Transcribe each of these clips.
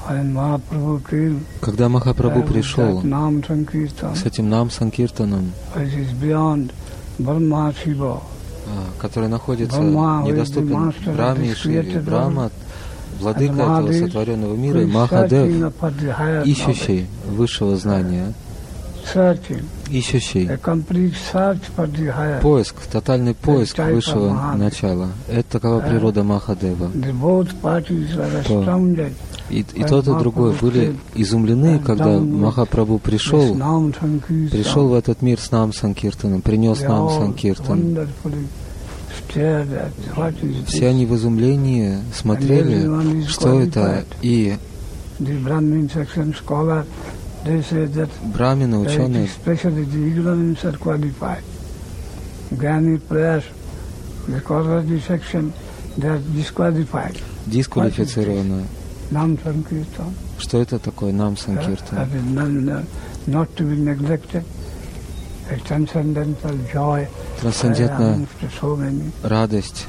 Когда Махапрабху пришел с этим Нам-Санкиртаном, который находится недоступен Брахме и Шиве, Брахма, владыка этого сотворенного мира, и Махадев, ищущий высшего знания, ищущий поиск, тотальный поиск высшего начала. Это такова природа Махадева. И тот, и другой были изумлены, когда Махапрабху пришел в этот мир с Нам-Санкиртаном, принес Нам-Санкиртан. Все они в изумлении смотрели, что это, и брамины, ученые, дисквалифицированы. Что это такое Нам-Санкиртан? Трансцендентная радость,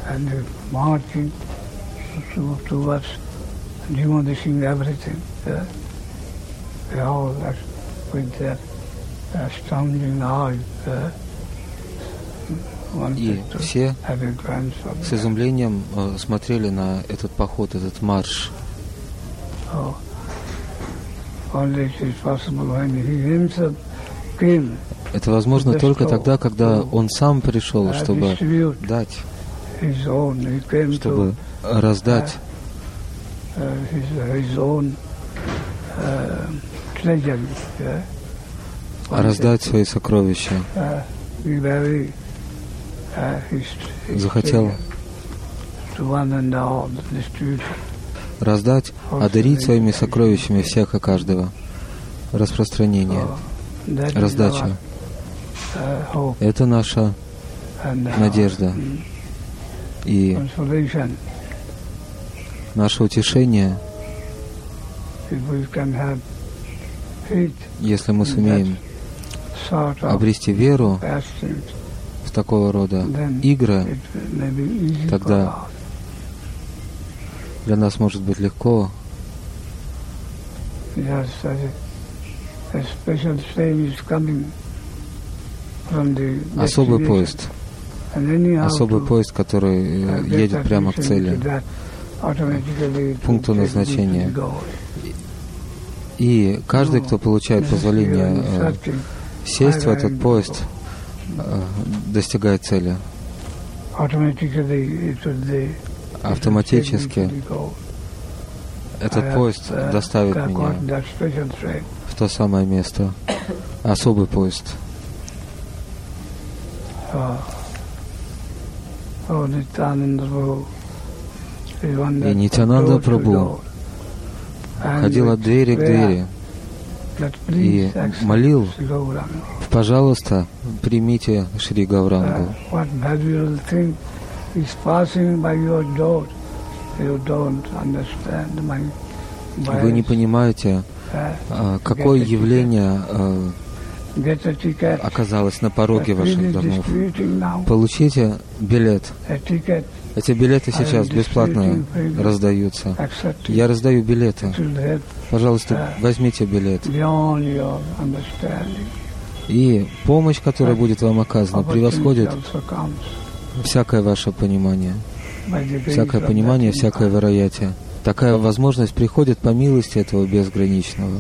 и все с изумлением смотрели на этот поход, этот марш. Это возможно только тогда, когда он сам пришел, чтобы дать, чтобы раздать свои сокровища. Захотел раздать, одарить своими сокровищами всех и каждого. Распространение, раздача. Это наша надежда и наше утешение, если мы сумеем обрести веру в такого рода игры, тогда для нас может быть легко. Особый поезд, который едет прямо к цели, пункту назначения. И каждый, кто получает позволение сесть в этот поезд, достигает цели. Автоматически этот поезд доставит меня в то самое место. Особый поезд. И Нитьянанда Прабху ходил от двери к двери и молил: пожалуйста, примите Шри Гаурангу. Вы не понимаете, какое явление оказалось на пороге ваших домов. Получите билет. Эти билеты сейчас бесплатно раздаются. Я раздаю билеты. Пожалуйста, возьмите билет. И помощь, которая будет вам оказана, превосходит всякое ваше понимание. Всякое понимание, всякое восприятие. Такая возможность приходит по милости этого безграничного.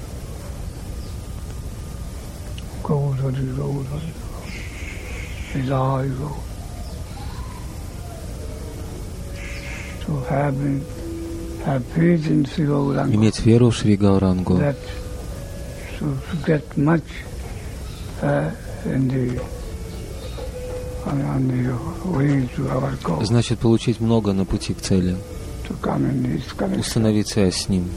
Иметь веру в Шри Гаурангу, значит получить много на пути к цели, установить связь с Ним.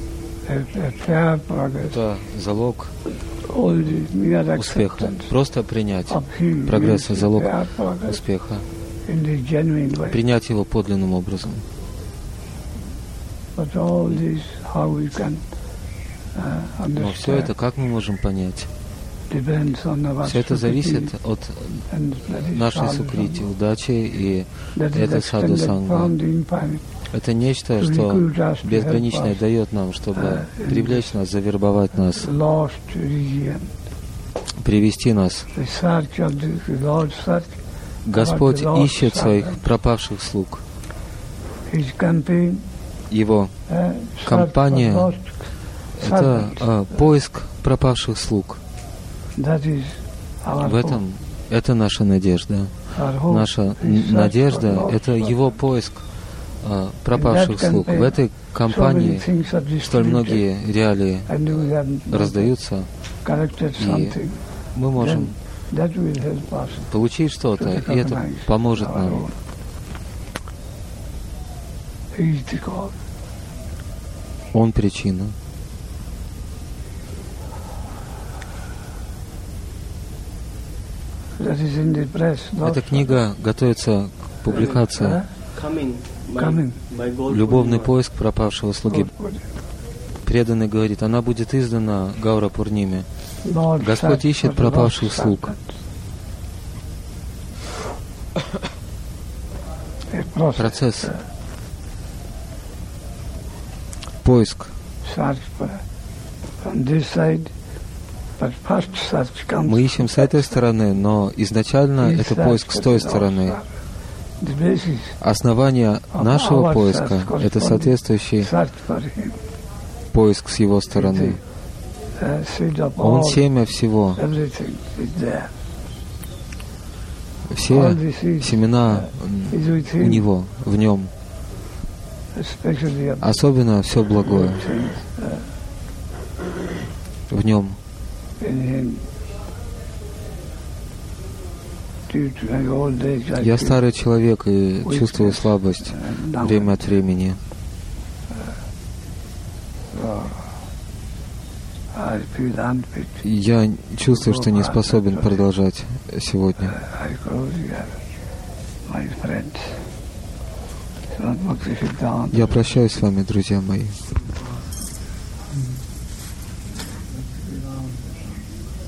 Это залог успеха. Просто принять прогресса, залог успеха. Принять его подлинным образом. Но все это как мы можем понять? Все это зависит от нашей сукрити, удачи, и это саду санга. Это нечто, что безграничное дает нам, чтобы привлечь нас, завербовать нас, привести нас. Господь ищет своих пропавших слуг. Его кампания — это поиск пропавших слуг. В этом это наша надежда. Наша надежда — это Его поиск пропавших слуг. В этой кампании столь многие реалии раздаются, и мы можем получить что-то, и это поможет нам. Он причина. Эта книга готовится к публикации. Любовный поиск пропавшего слуги. Преданный говорит, она будет издана Гаура Пурниме. Господь ищет пропавших слуг. Процесс. Поиск. Мы ищем с этой стороны, но изначально это поиск с той стороны. Основание нашего поиска — это соответствующий поиск с его стороны. Он семя всего. Все семена у него, в нем. Особенно все благое в нем. Я старый человек и чувствую слабость время от времени. Я чувствую, что не способен продолжать сегодня. Я прощаюсь с вами, друзья мои.